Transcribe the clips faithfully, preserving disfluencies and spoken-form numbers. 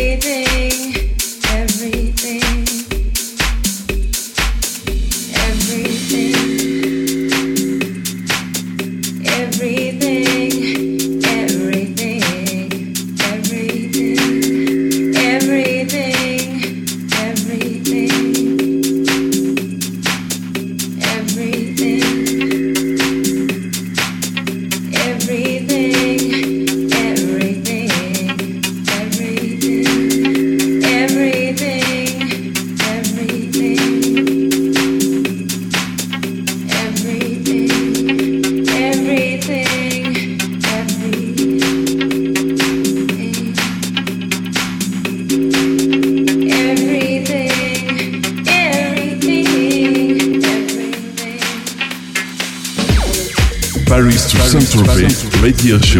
Paris to Saint-Tropez Radio Show.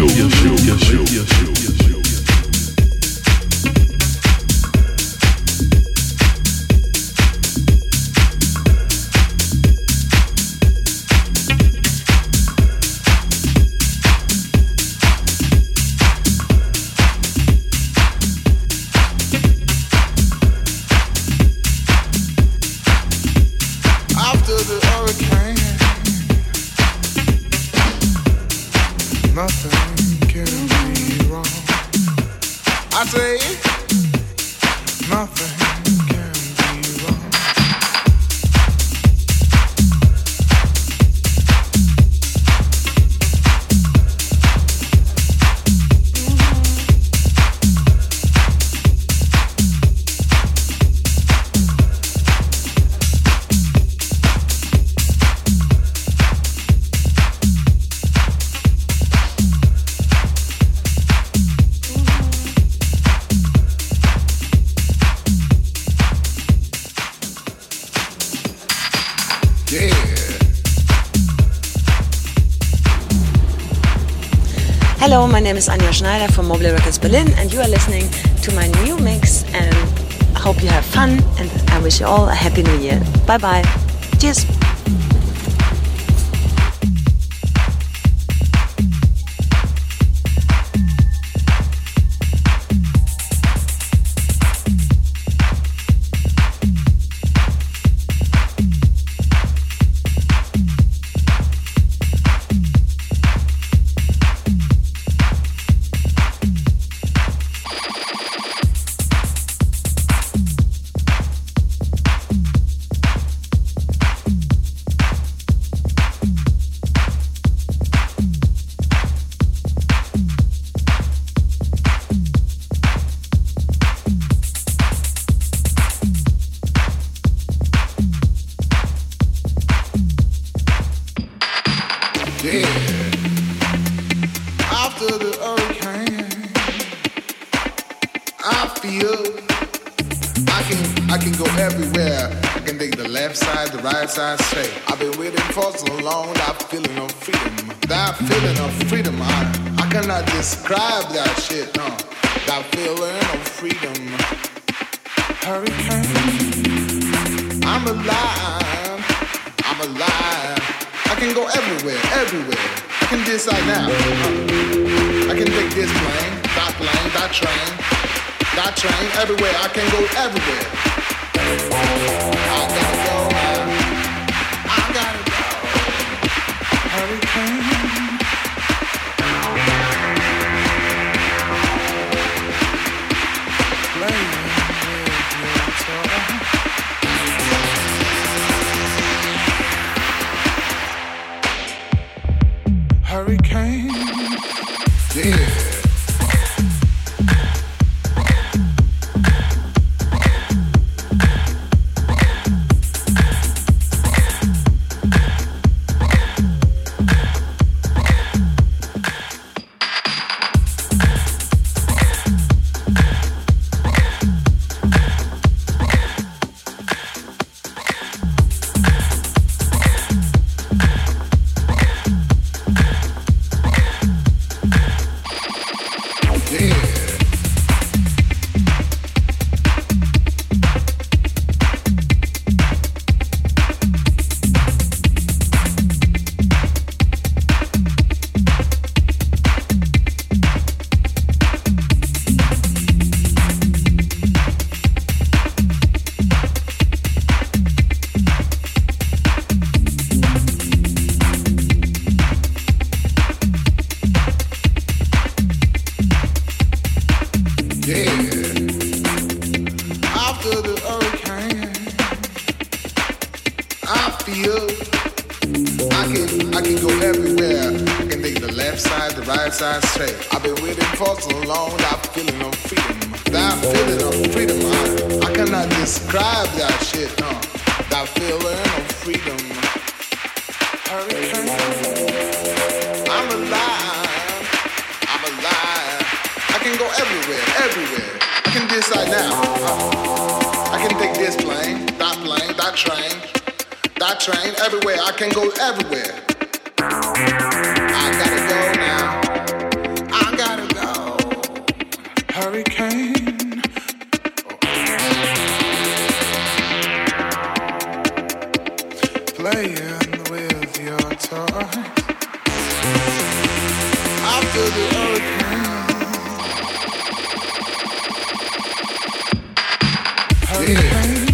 Hello, my name is Anja Schneider from Mobile Records Berlin, and you are listening to my new mix, and I hope you have fun, and I wish you all a happy new year. Bye bye. Cheers. I say I've been waiting for so long. That feeling of freedom, that feeling of freedom, I, I cannot describe that shit, no. That feeling of freedom. Hurricane, I'm alive, I'm alive. I can go everywhere, everywhere. I can decide now. I can take this plane, that plane, that train, that train, everywhere. I can go everywhere. I gotta go, man. I gotta go. Hurricane. Playing with your toy. Hurricane. Yeah. side straight. I've been waiting for so long, that feeling of freedom. That feeling of freedom, I, I cannot describe that shit, no. That feeling of freedom. Hurricane. I'm alive, I'm alive. I can go everywhere, everywhere. I can decide now. Uh, I can take this plane, that plane, that train, that train, everywhere. I can go everywhere. I gotta go now. I gotta go. Hurricane. Playing with your toys. After the hurricane. Hurricane. Yeah.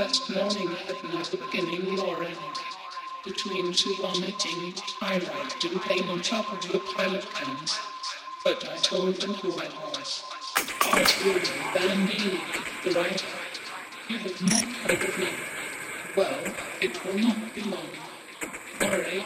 last morning I had my beginning Lauren. Between two vomiting, I arrived and came on top of the pile of cans. But I told them who I was. Arturo Bambini, the writer. You have not heard of me. Well, it will not be long. Worry.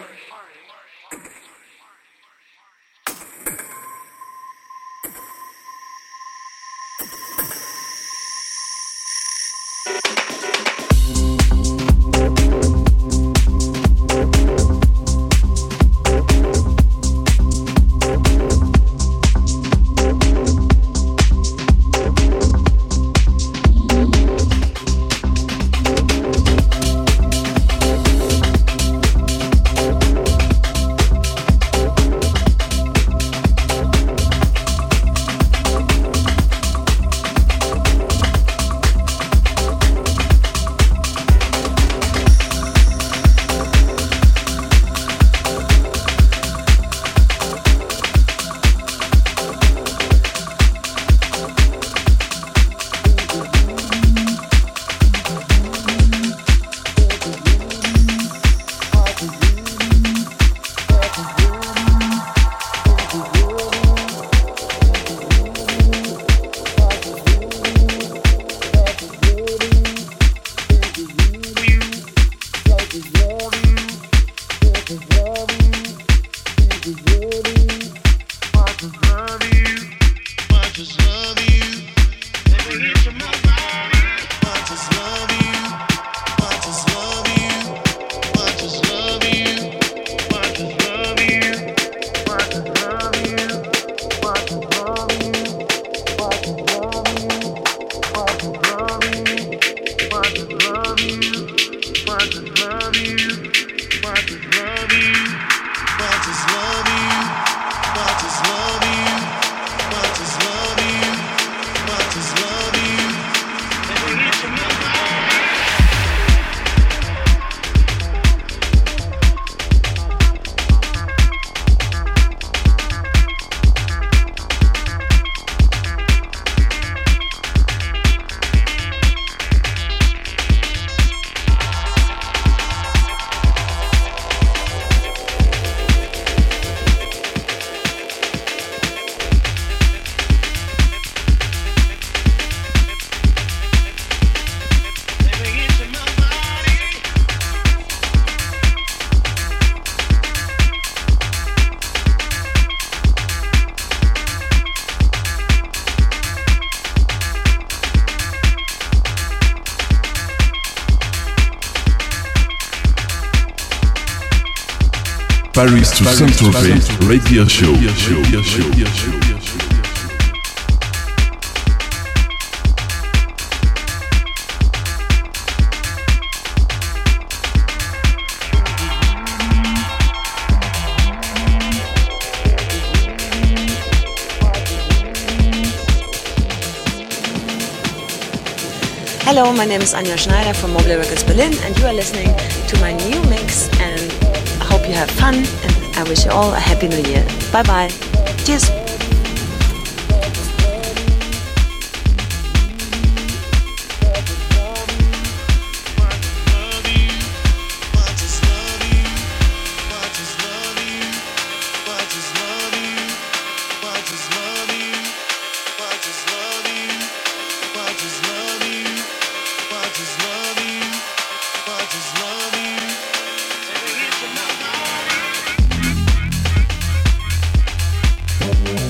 Paris to Saint-Tropez Radio Show. Radio Show. Radio Show. Hello, my name is Anja Schneider from Mobile Records Berlin, and you are listening to my new mix, and I hope you have fun, and I wish you all a happy new year. Bye bye. Cheers. We'll be right back.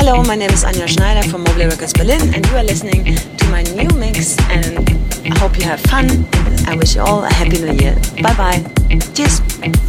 Hello, my name is Anja Schneider from Mobile Records Berlin, and you are listening to my new mix, and I hope you have fun, and I wish you all a happy new year. Bye bye. Cheers.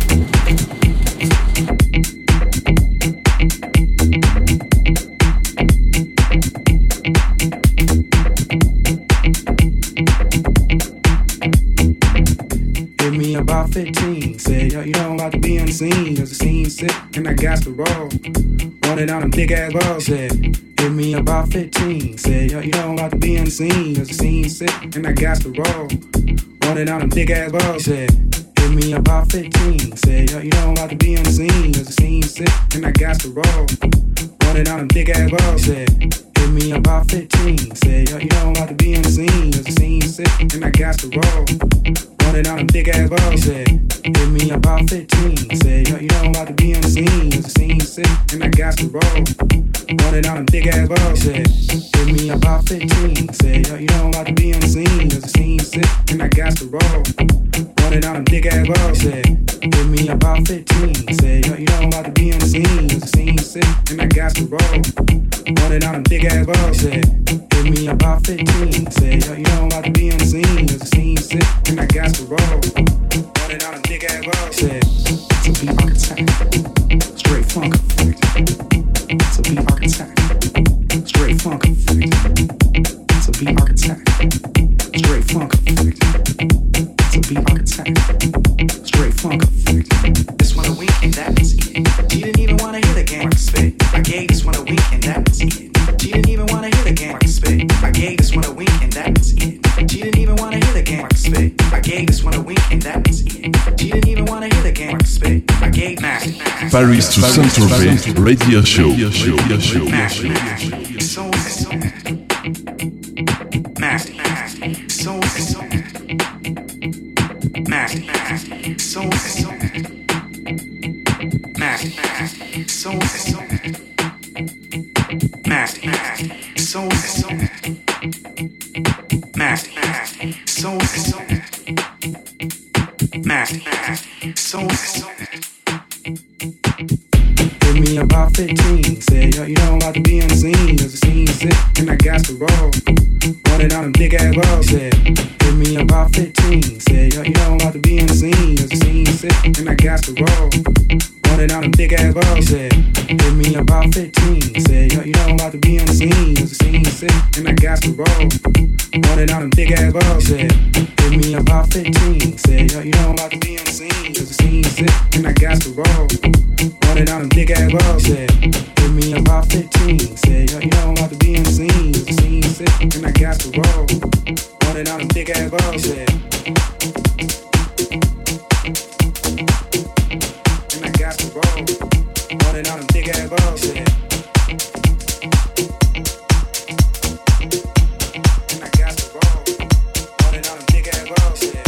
Me about fifteen, said, yo, you know I'm about to be on the scene, cause the scene's sick, and I got to roll, running on them big ass balls, said, hit me about fifteen, said, yo, you know I'm about to be on the scene, cause the scene's sick, and I got to roll, running on them big ass balls, said, hit me about fifteen, said, yo, you know I'm about to be on the scene, cause the scene's sick, and I got to roll, running on them big ass balls, said, hit me about fifteen, said, yo, you know I'm about to be on the scene, cause the scene's sick, and I got to roll, running on them big ass balls, said, hit me about fifteen, said, yo, you know I'm about to be on the scene, cause the scene's sick, and I got to roll, running on them big ass balls, said, hit me about fifteen, said, yo, you know I'm about to be on the scene, cause the scene's sick, and I got to roll, running on them big ass balls, said, hit me about fifteen, said, yo, you know I'm about to be on the scene, cause the scene's sick, and I got to roll, running on them big ass balls, said, hit me about fifteen, said, yo, you know I'm about to be on the scene, cause the scene's sick, and I got to roll, running on them big ass balls, said, to be architect, straight funk effect, to be architect, straight funk effect, to be architect, straight funk effect, to be architect, straight funk effect. This one a week and that was it. She didn't even wanna hear the game I spit. I gave this one a week and that was it. She didn't even wanna hear the game I spit. I gave this one a week and that was it. She didn't even wanna hear the game I spit. I gave this one a week and that was it. She didn't even wanna hear the game I spit. I gave master. Paris to Saint-Tropez Radio Show. Radio Show. Master. So so master. So so master. So so master. So so master. So so master. So so master. So so hit me about fifteen, said, yo, you know I'm about to be on the scene, cause the scene's sick, and I got to roll, running on them big ass balls, said, hit me about fifteen, said, yo, you know I'm about to be on the scene, cause the scene's sick, and I got to roll, running on them big ass balls, said, hit me about fifteen, said, yo, you know I'm about to be on the scene, cause the scene's sick, and I got to roll, running on them big ass balls, said, hit me about fifteen, said, yo, you know I'm about to be on the scene, cause the scene's sick, and I got to roll, running on them big ass balls, said, hit me about fifteen, said, yo, you know I'm about to be on the scene, cause the scene's sick, and I got to roll, running on them big ass balls, said, and I got to roll, running on them big ass balls, said, and I got to roll, running on them big ass balls, said.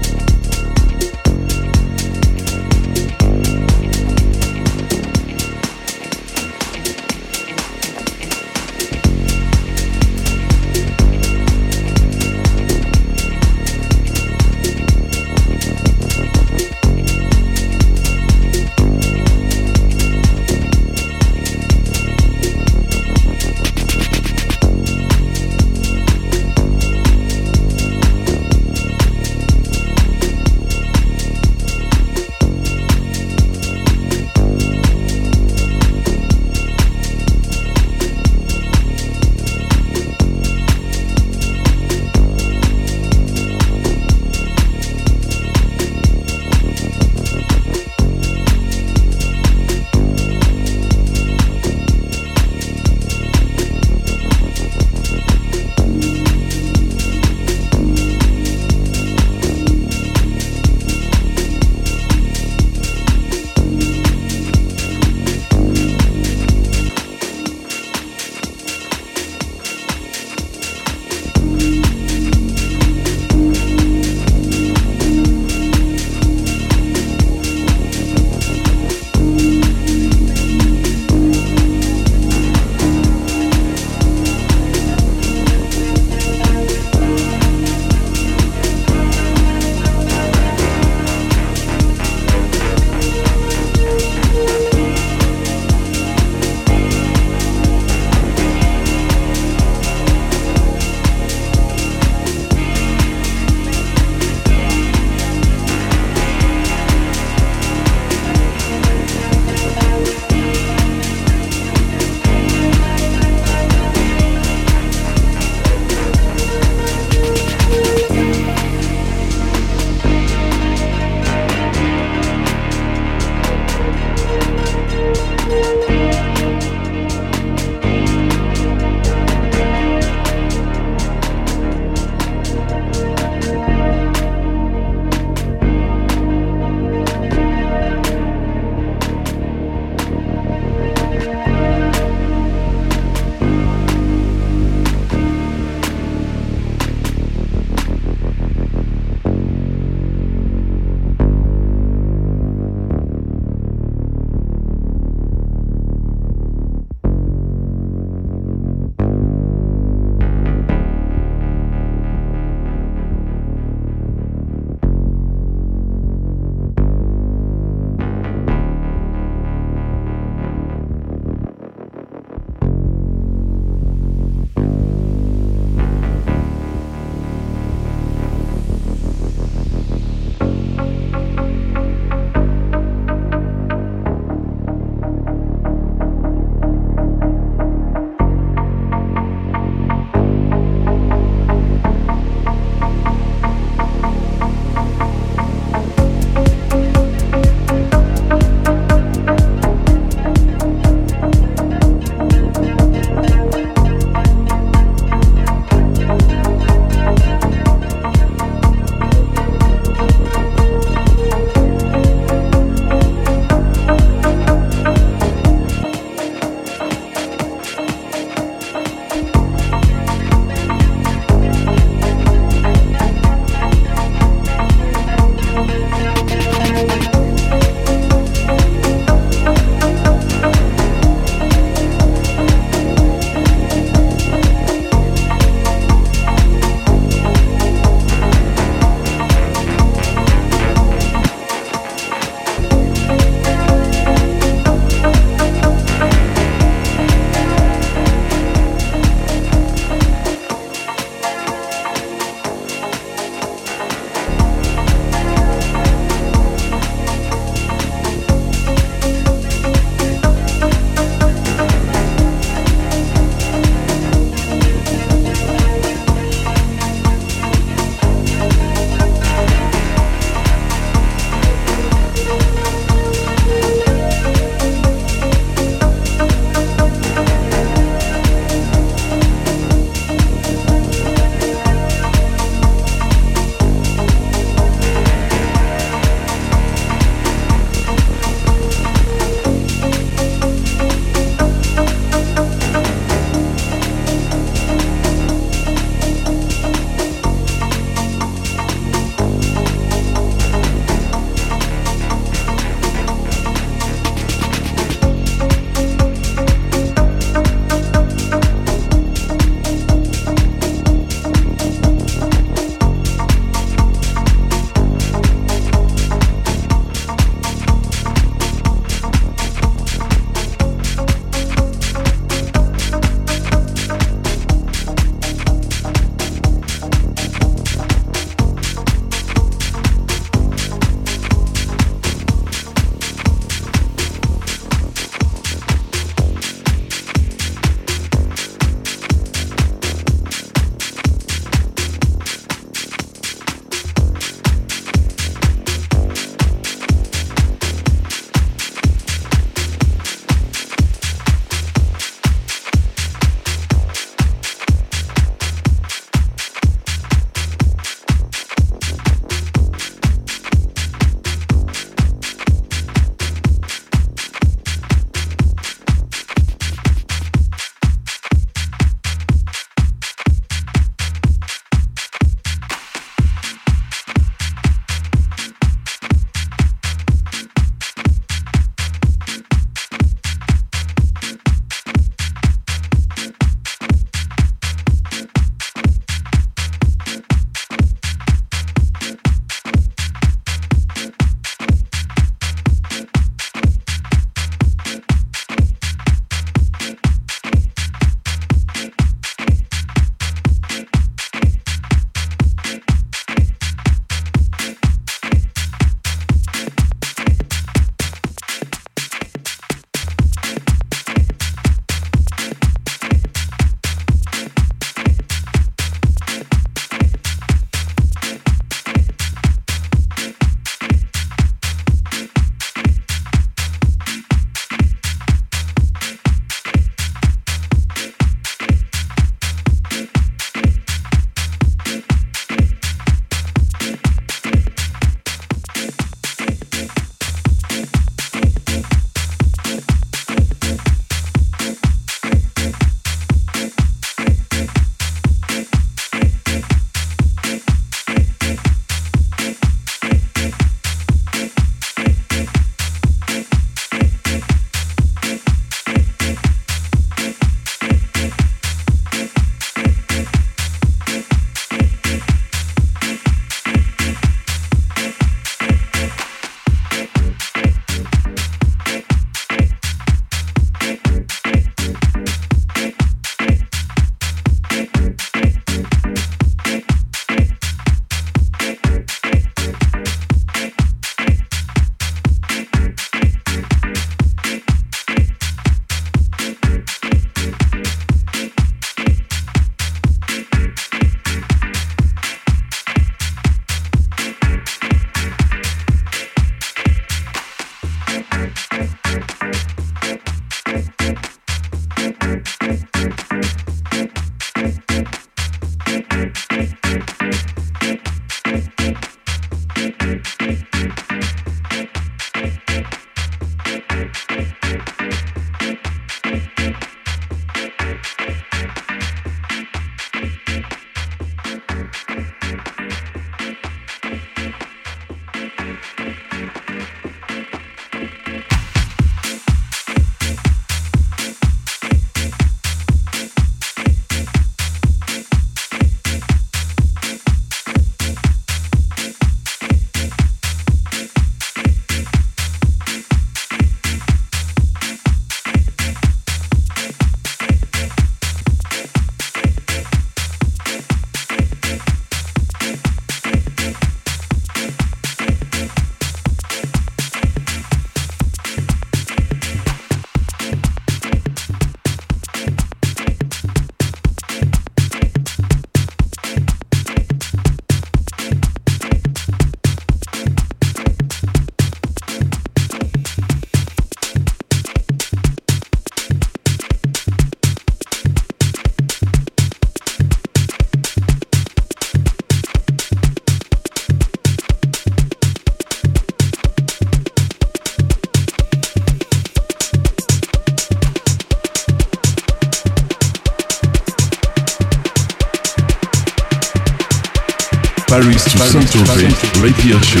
Paris to Saint-Tropez Radio Show.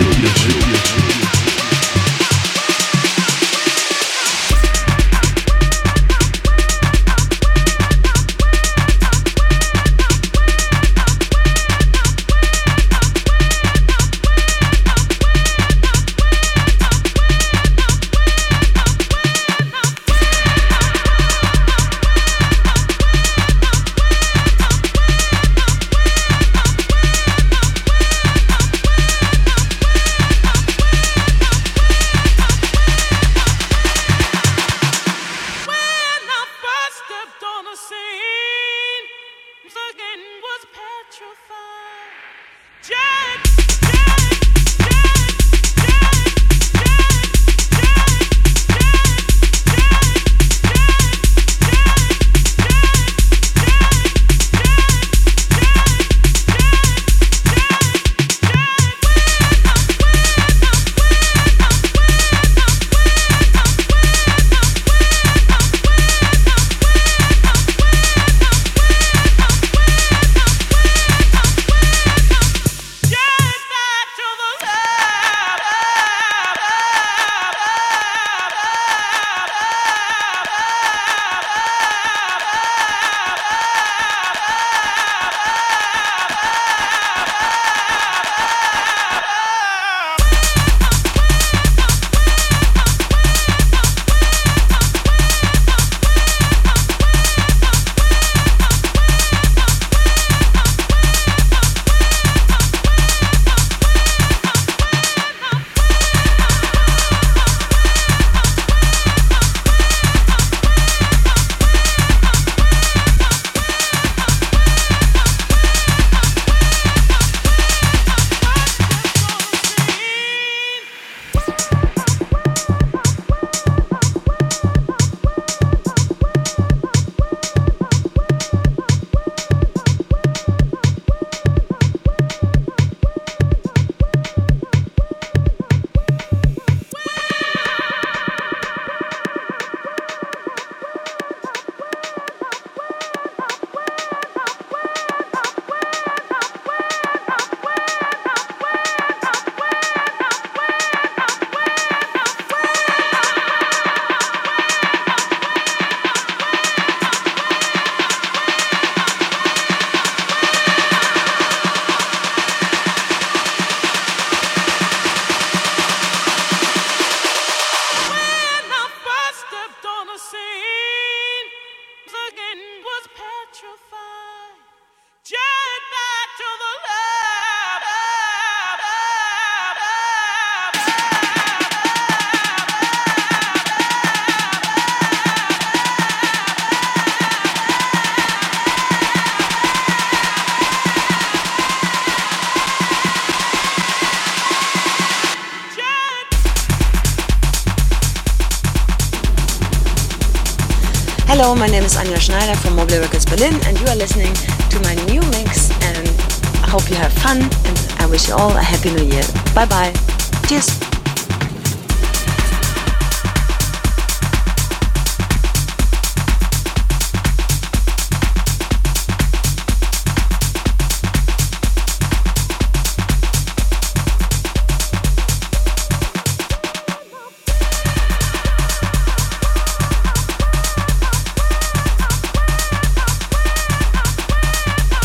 Hello, my name is Anja Schneider from Mobile Records Berlin, and you are listening to my new mix, and I hope you have fun, and I wish you all a happy new year. Bye bye. Cheers.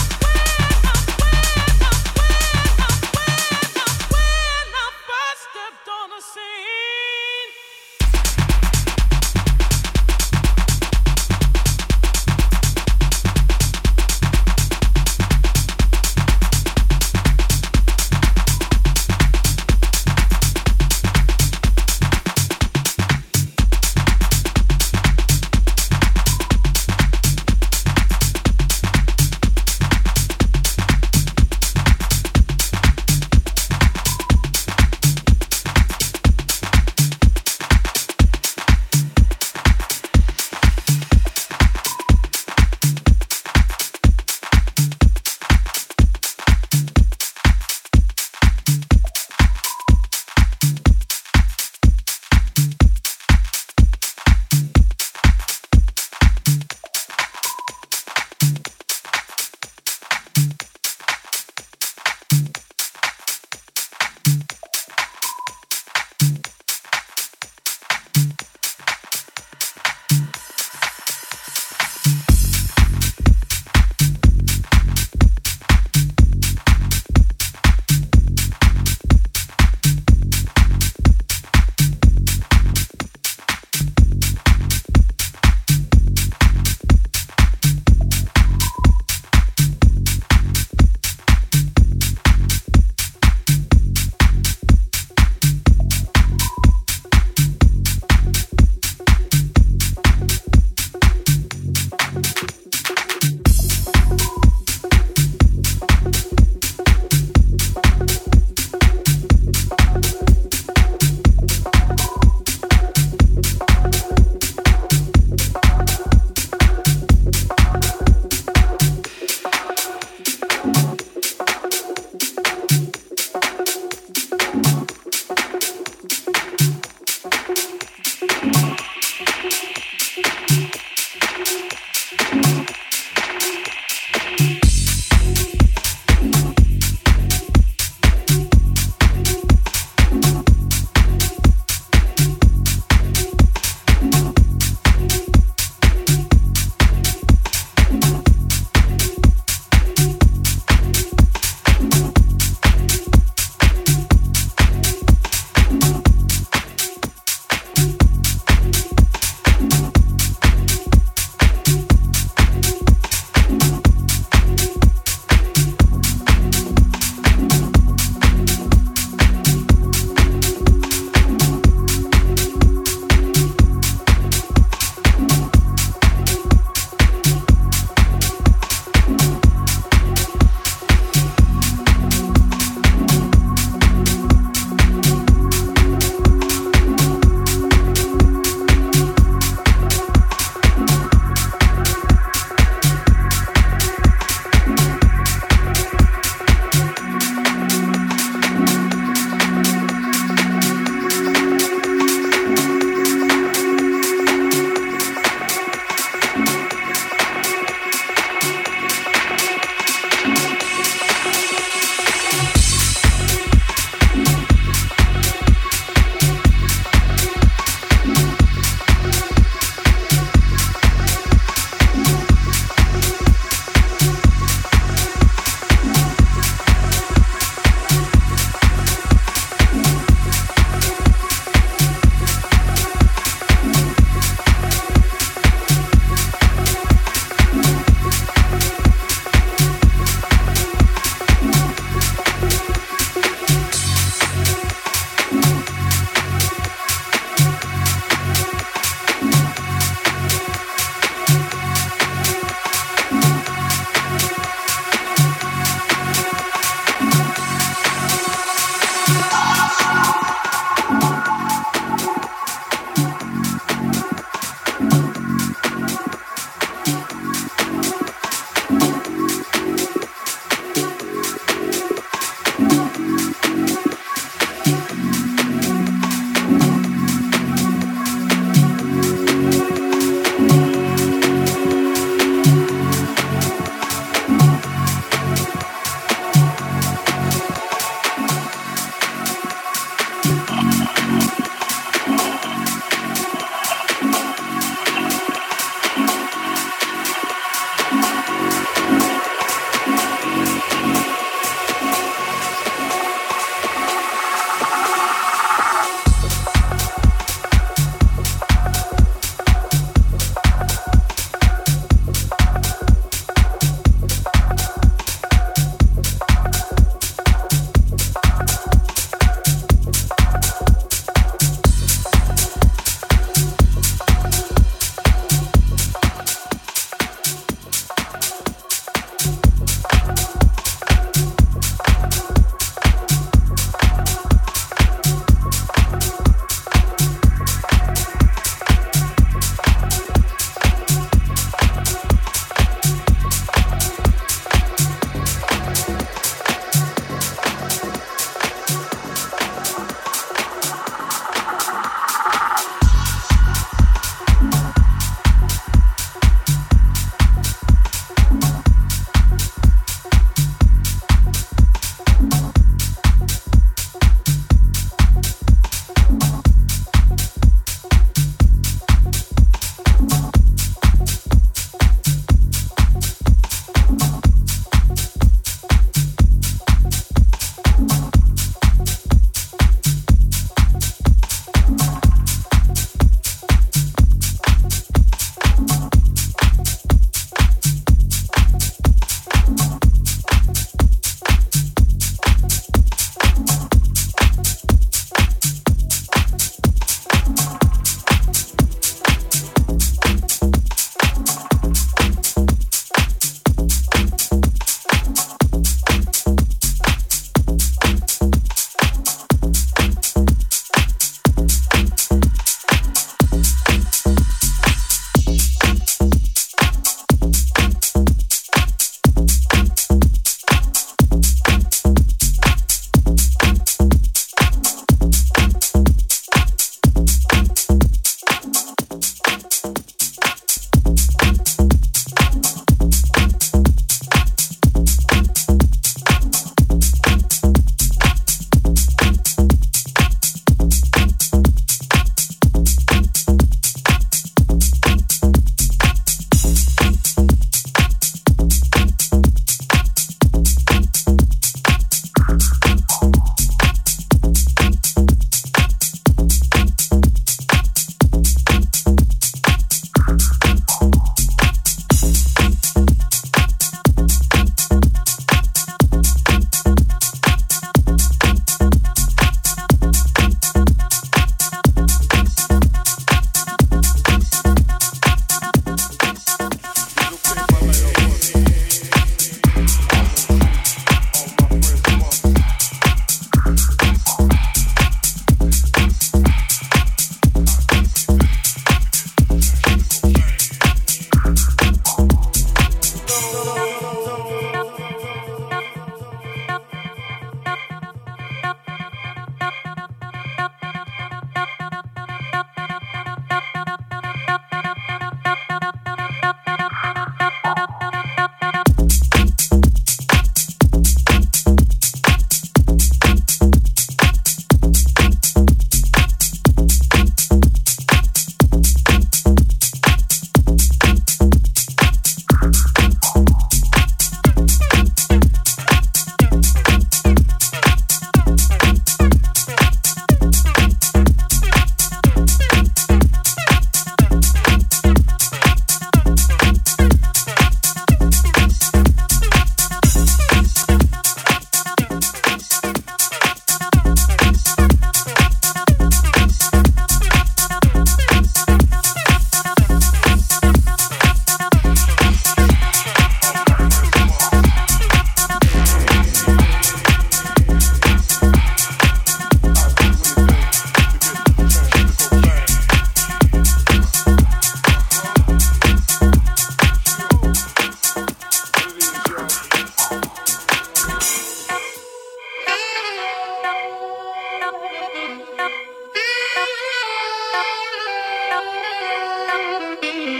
Step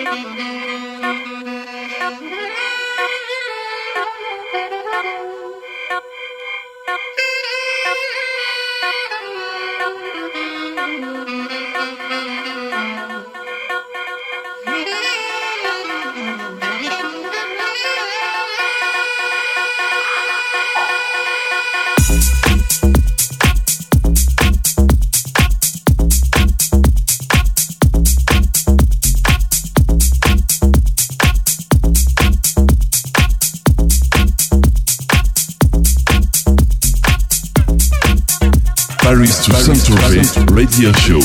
Paris to Saint-Tropez Radio Show.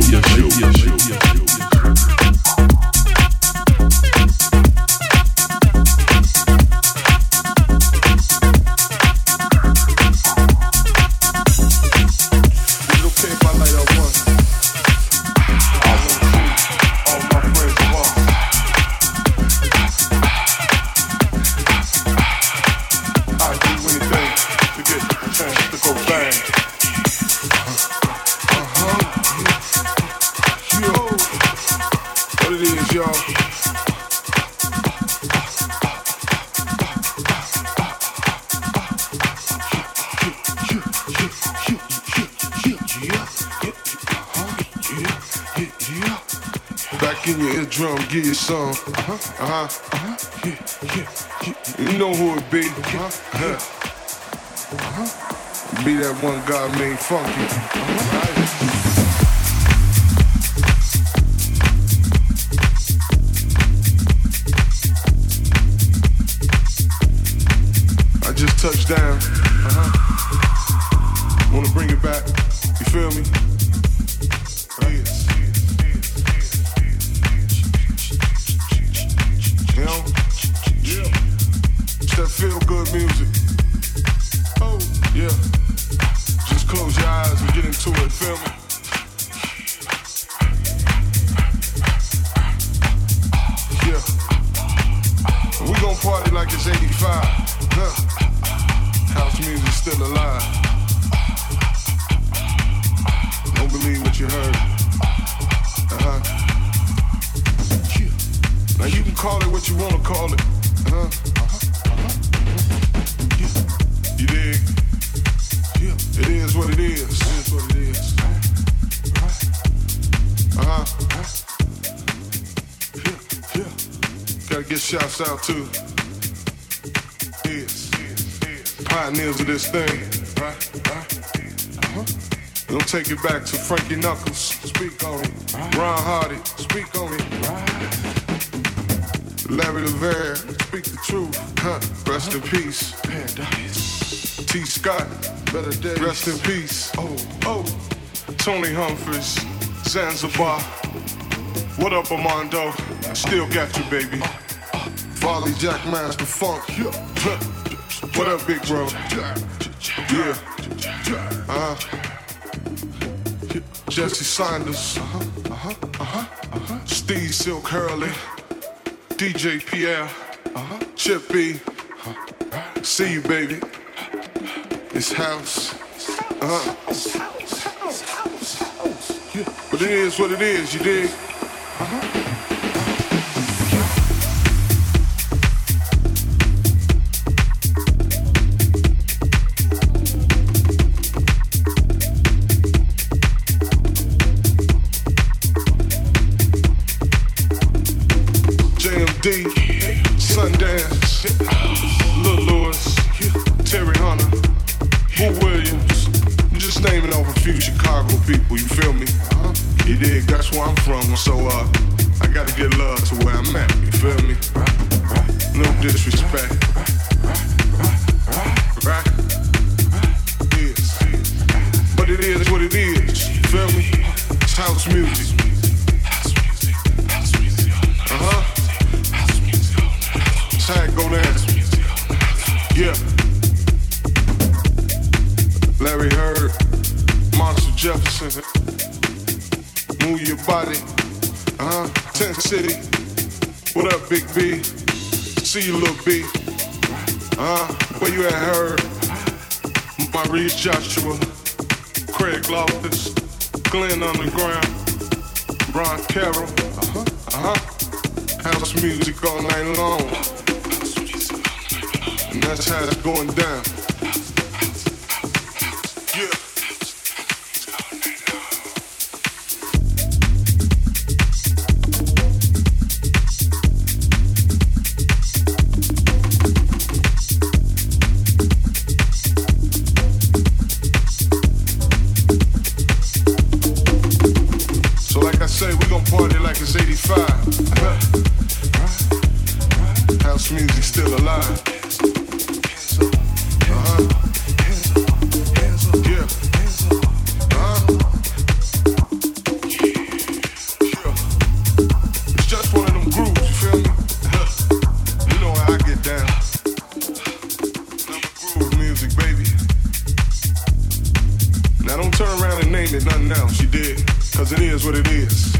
Give you some, uh-huh, uh-huh, uh-huh, yeah, yeah, yeah. You know who it be, uh-huh, yeah. Uh-huh. Be that one God made funky, uh-huh. I just touched down, uh-huh. Wanna bring it back, you feel me? You know? Yeah. It's that feel good music. Oh, yeah. Just close your eyes and get into it, feel me? Yeah. We gon' party like it's eighty-five. Huh. House music's still alive. Don't believe what you heard. Uh-huh. Now you can call it what you wanna call it, uh-huh, uh-huh, uh-huh. Yeah. You dig? Yeah. It is what it is. It is what it is. Uh-huh. Yeah, yeah. Gotta get shouts out to yes, pioneers of this thing. Right, right. Uh-huh. We'll take it back to Frankie Knuckles. Speak on it. Ron Hardy. Speak on it. Larry LeVere, speak the truth, huh? Rest in peace. Paradise. T. Scott, better days. Rest in peace. Oh, oh. Tony Humphries, Zanzibar. What up, Armando? Still got you, baby. Farley Jack Master Funk. What up, big bro? Yeah. Uh-huh. Jesse Saunders. Uh-huh. Uh-huh. Uh-huh. Uh-huh. Steve Silk Hurley. D J Pierre, uh-huh. Chip B, uh-huh. See you, baby. It's house, uh-huh. Yeah. But it is what it is, you dig? Uh-huh. D, Sundance, Lil Lewis, Terry Hunter, Boo Williams. I'm just naming off a few Chicago people, you feel me? Uh-huh. You dig? That's where I'm from, so uh, I gotta get love to where I'm at, you feel me? No disrespect. Right? Yes. But it is what it is, you feel me? It's house music. Uh-huh. How it go down. Yeah. Larry Heard, Monster Jefferson. Move your body. Uh-huh. Tent City. What up, Big B? See you, little B. Uh-huh. Where you at, Heard? Maurice Joshua. Craig Loftus. Glenn Underground. Ron Carroll. Uh-huh. Uh-huh. House music all night long. And that's how it's going down. Yeah. So like I say, we gon' party like it's eighty-five. House music still alive. Uh-huh. Yeah. Uh-huh. Yeah. It's just one of them grooves, you feel me? You know how I get down. Number groove music, baby. Now don't turn around and name it nothing else, you did. Cause it is what it is.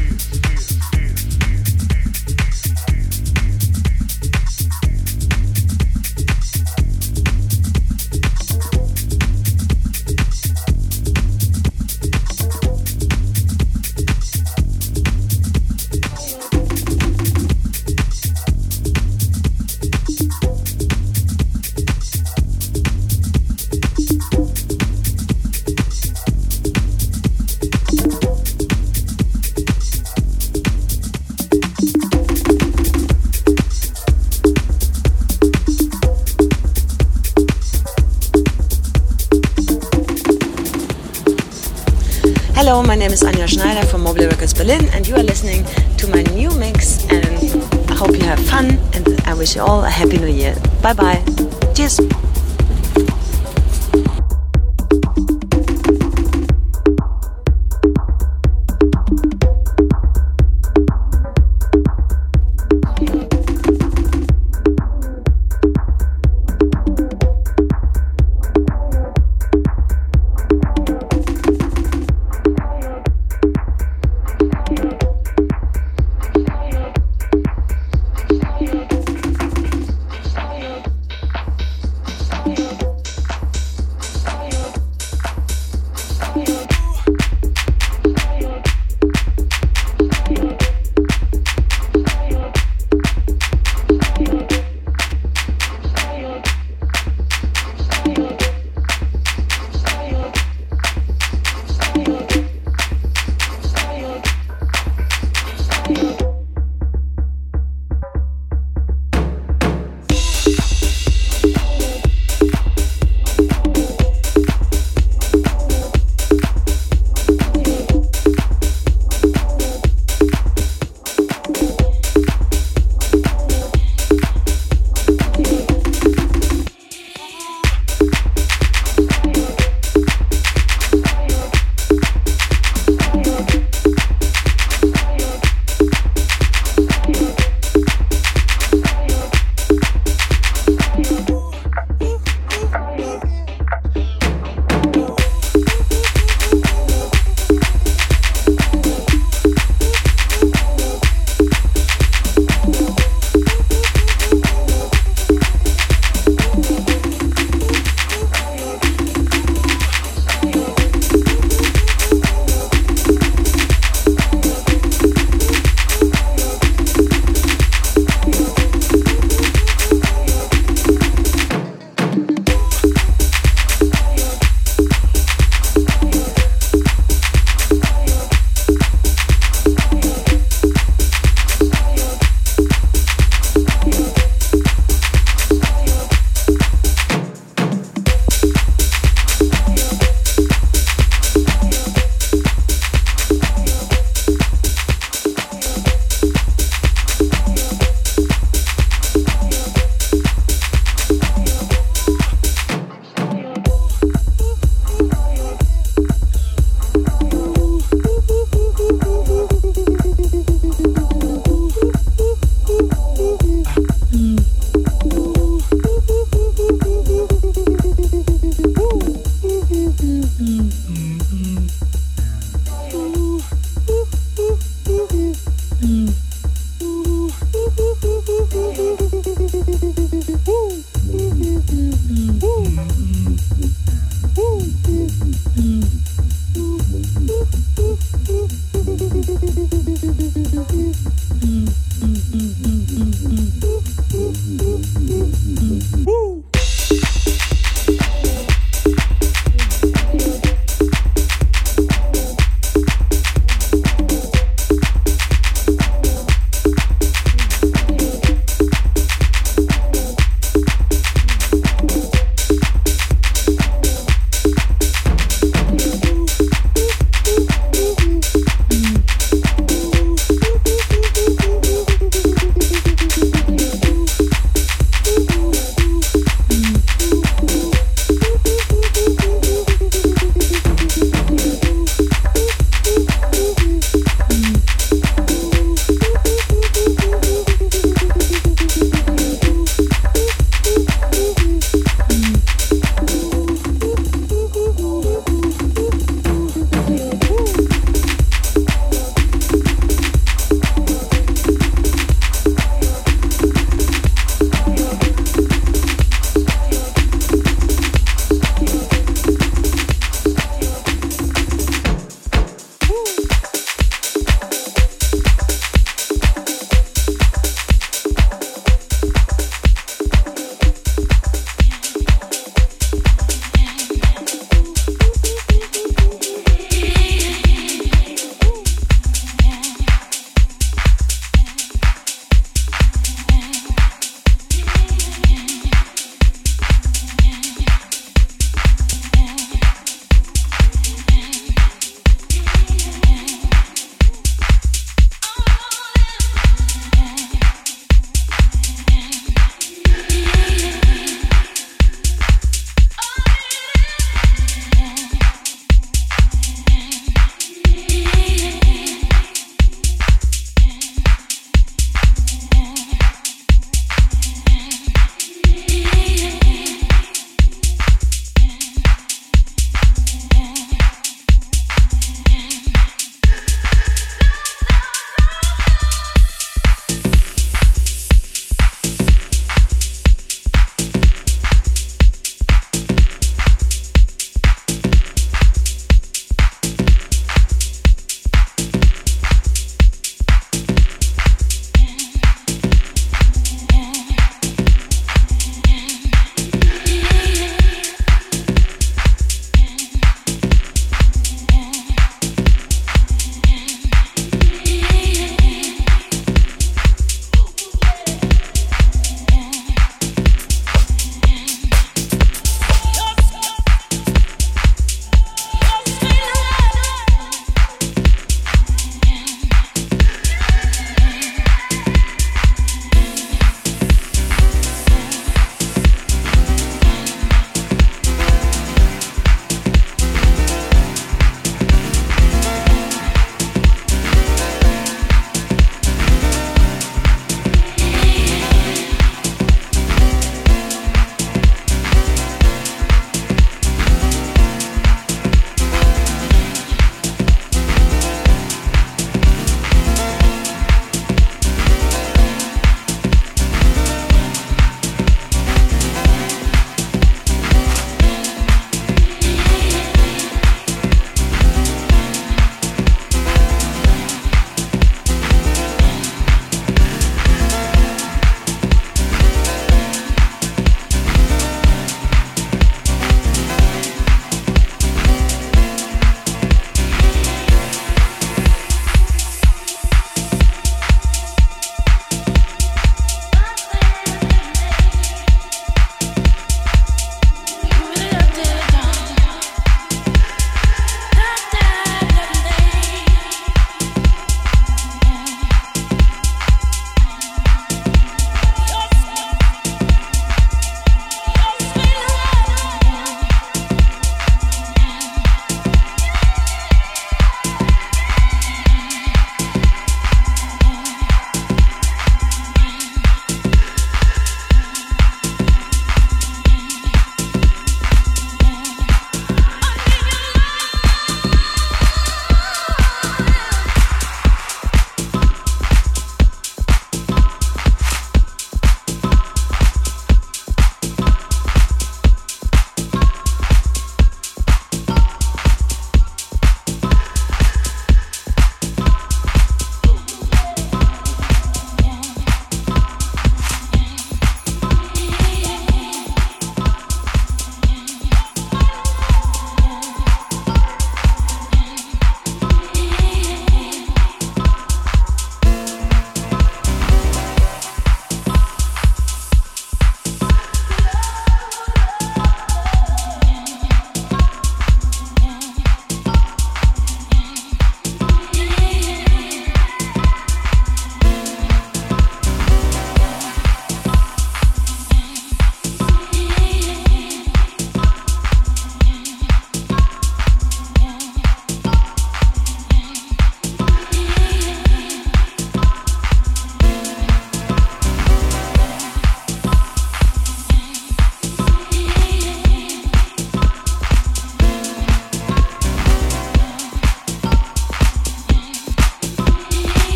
Hello, my name is Anja Schneider from Mobile Records Berlin, and you are listening to my new mix, and I hope you have fun, and I wish you all a happy new year. Bye bye. Cheers.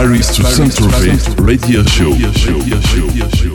Paris to Saint-Tropez Radio Show. Radio show. Radio show. Radio show.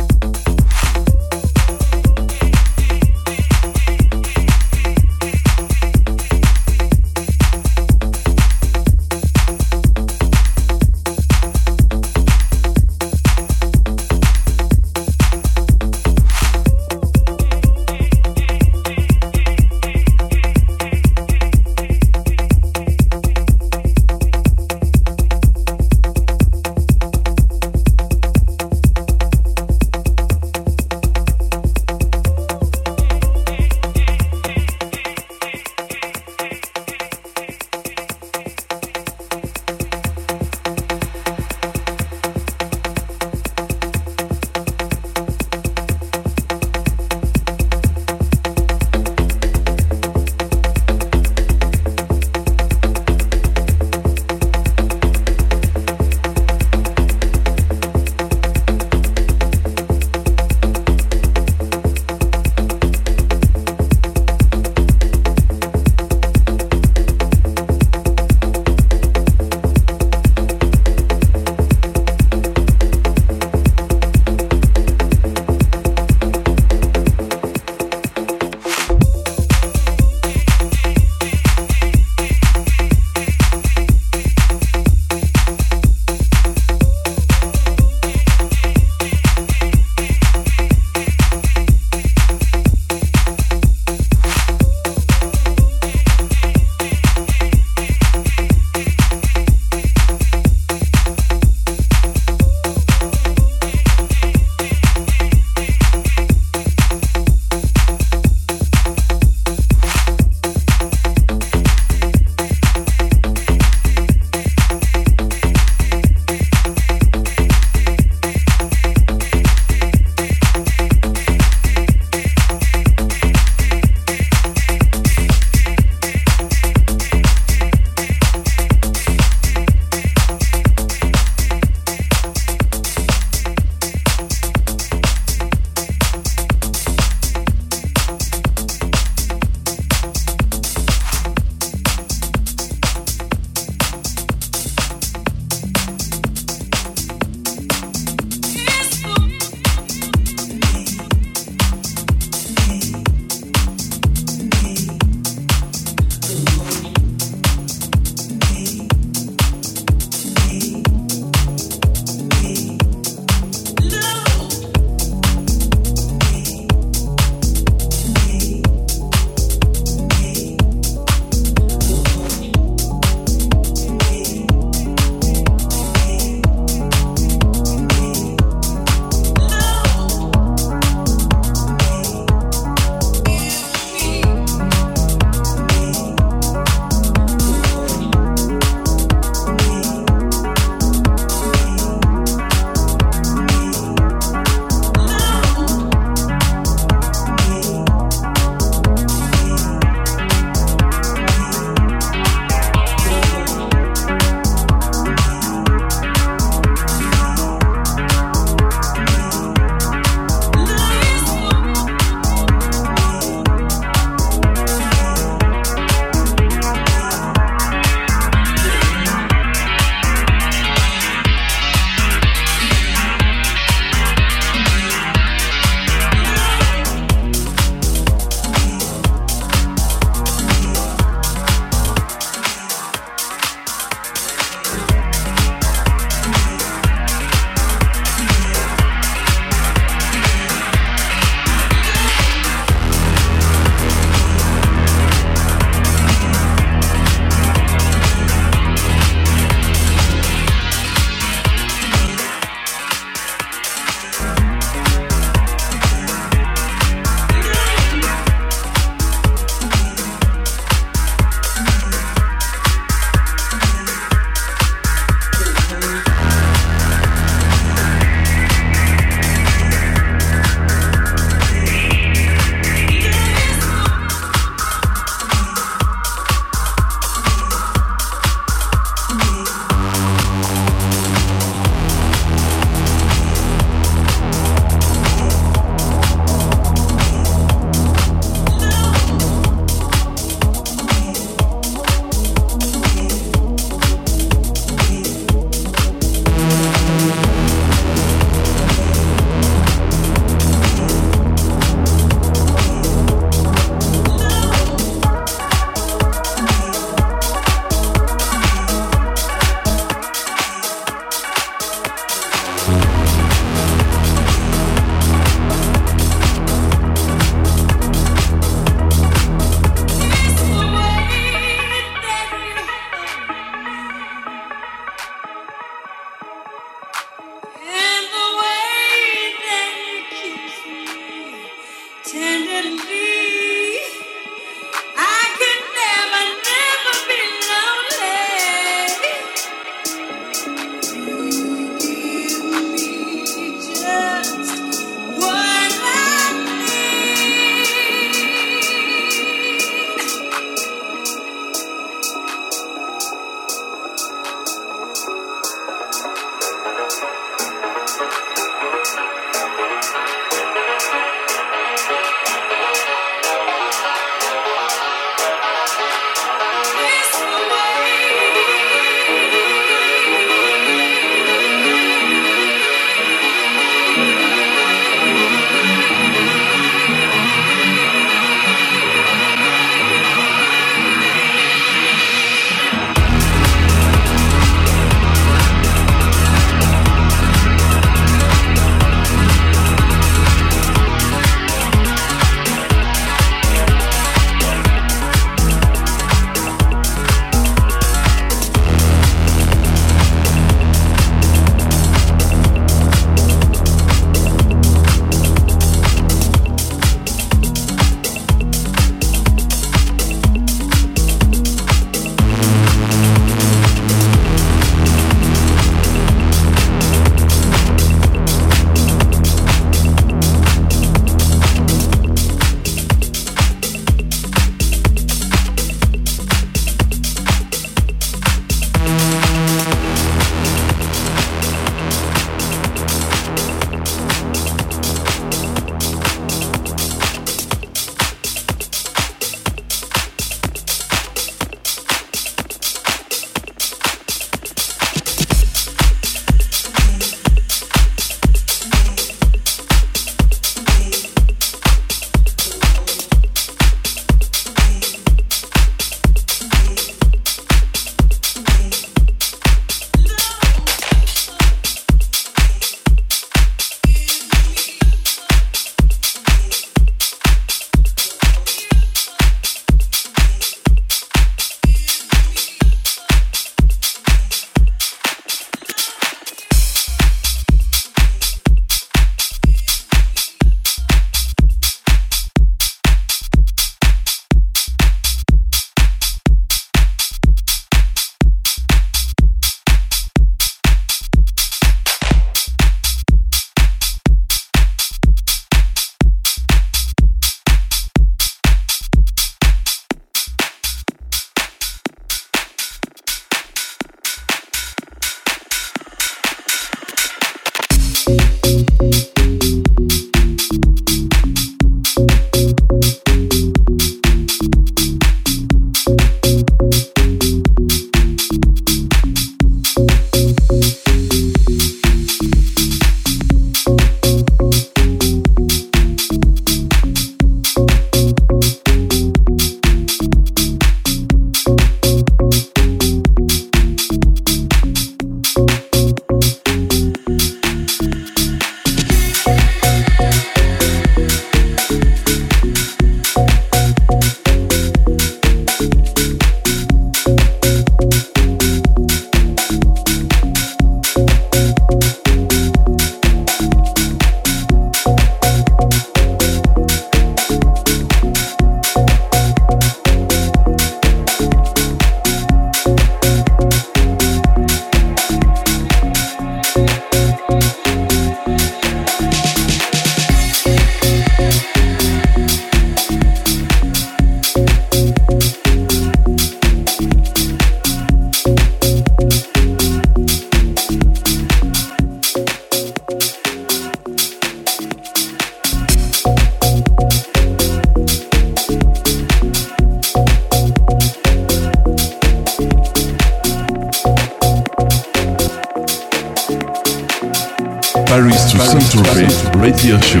Paris to Saint-Tropez Radio Show.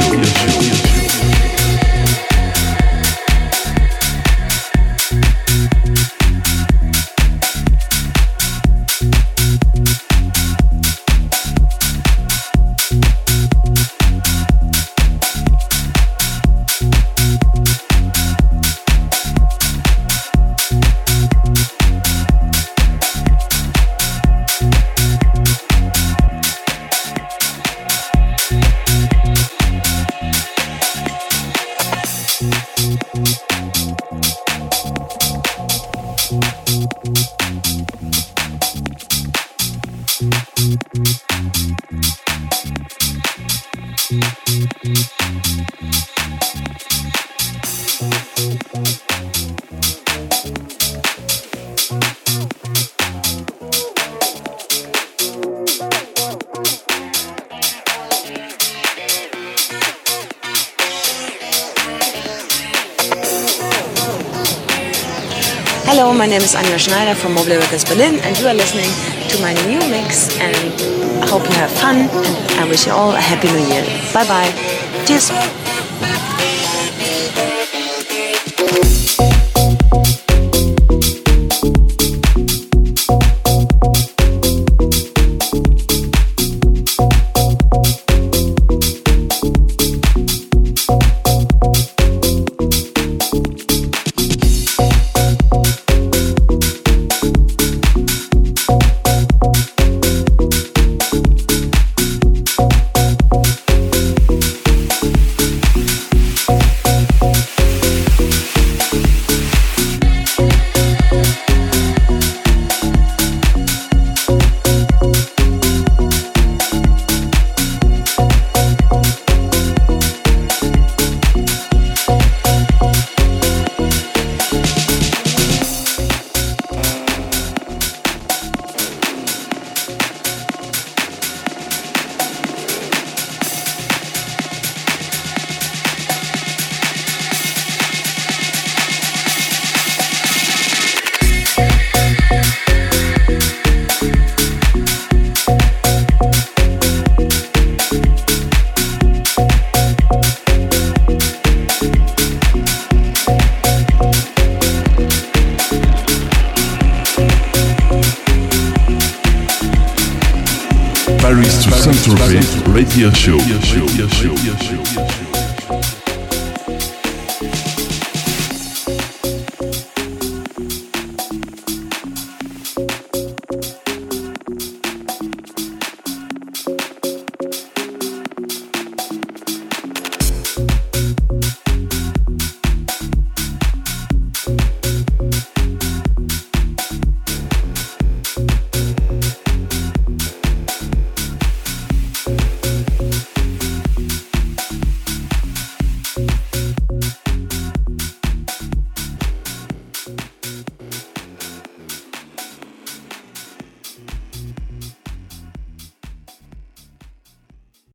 Hello, my name is Anja Schneider from Mobile Records Berlin, and you are listening to my new mix, and I hope you have fun, and I wish you all a happy new year. Bye bye. Cheers. Paris to Saint-Tropez Radio Show.